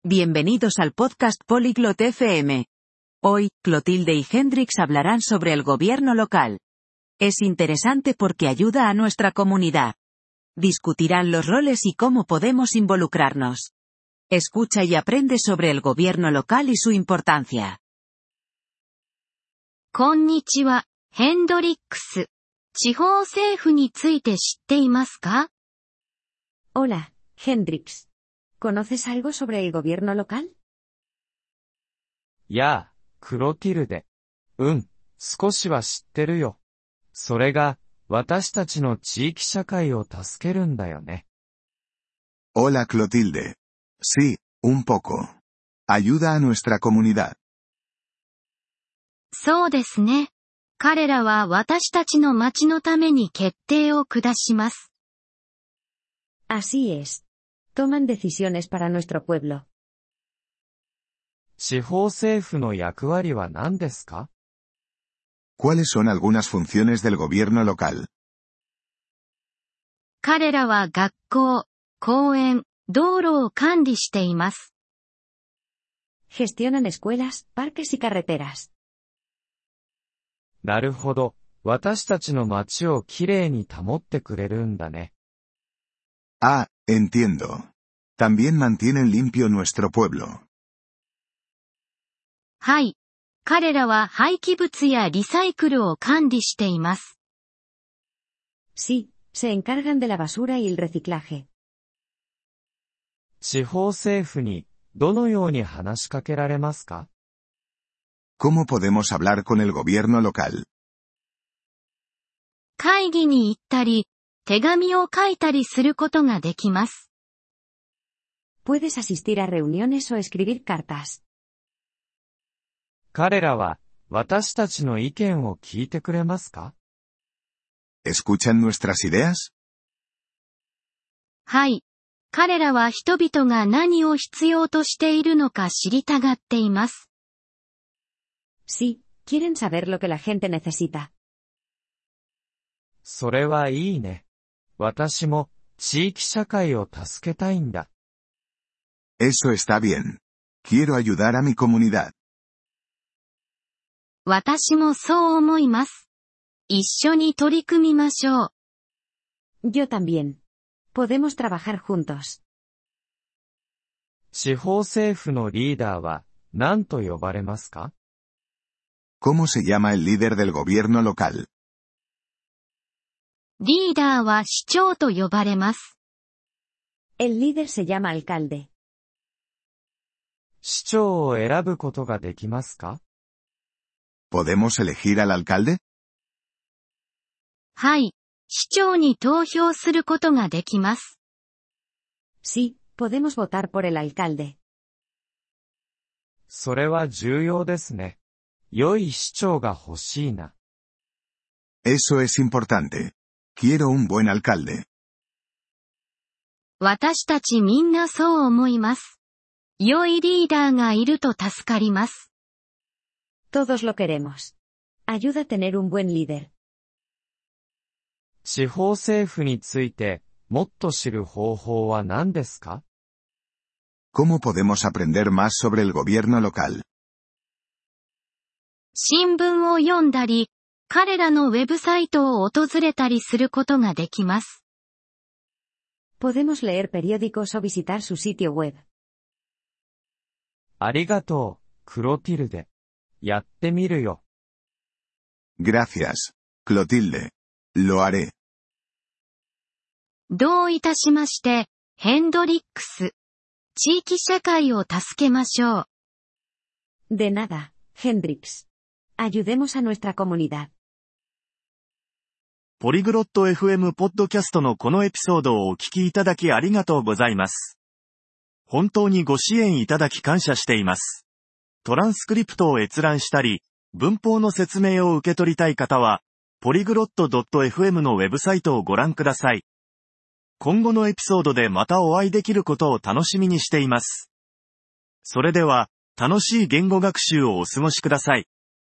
Bienvenidos al podcast Polyglot FM. Hoy, Clotilde y Hendrix hablarán sobre el gobierno local. Es interesante porque ayuda a nuestra comunidad. Discutirán los roles y cómo podemos involucrarnos. Escucha y aprende sobre el gobierno local y su importancia. こんにちは、ヘンドリックス。地方政府について知っていますか？ Hola, Hendrix. ¿Conoces algo sobre el gobierno local? やあ、クロティルデ。少しは知ってるよ。それが、私たちの地域社会を助けるんだよね。 Hola Clotilde. Sí, un poco. Ayuda a nuestra comunidad. そうですね。彼らは私たちの町のために決定を下します。 Así es. Toman decisiones para nuestro pueblo. 地方政府の役割は何ですか？ ¿Cuáles son algunas funciones del gobierno local? 彼らは学校、公園、道路を管理しています。 Gestionan escuelas, parques y carreteras. なるほど。私たちの町をきれいに保ってくれるんだね。 Ah, entiendo. También mantienen limpio nuestro pueblo. はい。彼らは廃棄物やリサイクルを管理しています。 Sí, se encargan de la basura y el reciclaje. 地方政府に、どのように話しかけられますか？ ¿Cómo podemos hablar con el gobierno local? 会議に行ったり、手紙を書いたりすることができます。 Puedes asistir a reuniones o escribir cartas. 彼らは、私たちの意見を聞いてくれますか？ ¿Escuchan nuestras ideas? はい。彼らは人々が何を必要としているのか知りたがっています。 Sí, quieren saber lo que la gente necesita. それはいいね。私も、地域社会を助けたいんだ。 Eso está bien. Quiero ayudar a mi comunidad. 私もそう思います。一緒に取り組みましょう。 Yo también. Podemos trabajar juntos. 地方政府のリーダーは、何と呼ばれますか？ ¿Cómo se llama el líder del gobierno local? リーダーは市長と呼ばれます。 El líder se llama alcalde. 市長を選ぶことができますか？ ¿Podemos elegir al alcalde? はい。市長に投票することができます。 Sí, podemos votar por el alcalde. それは重要ですね。良い市長が欲しいな。 Eso es importante. Quiero un buen alcalde. 私たちみんなそう思います。良いリーダーがいると助かります。 Todos lo queremos. Ayuda a tener un buen líder. 地方政府について、もっと知る方法は何ですか？ ¿Cómo podemos aprender más sobre el gobierno local? 新聞を読んだり、彼らのウェブサイトを訪れたりすることができます。 Podemos leer periódicos o visitar su sitio web. ありがとう、クロティルデ。やってみるよ。 Gracias, Clotilde. Lo haré. どういたしまして、ヘンドリックス。地域社会を助けましょう。 De nada, Hendrix. Ayudemos a nuestra comunidad. ポリグロット FM ポッドキャストのこのエピソードをお聞きいただきありがとうございます。本当にご支援いただき感謝しています。トランスクリプトを閲覧したり、文法の説明を受け取りたい方は、polyglot.fm のウェブサイトをご覧ください。今後のエピソードでまたお会いできることを楽しみにしています。それでは、楽しい言語学習をお過ごしください。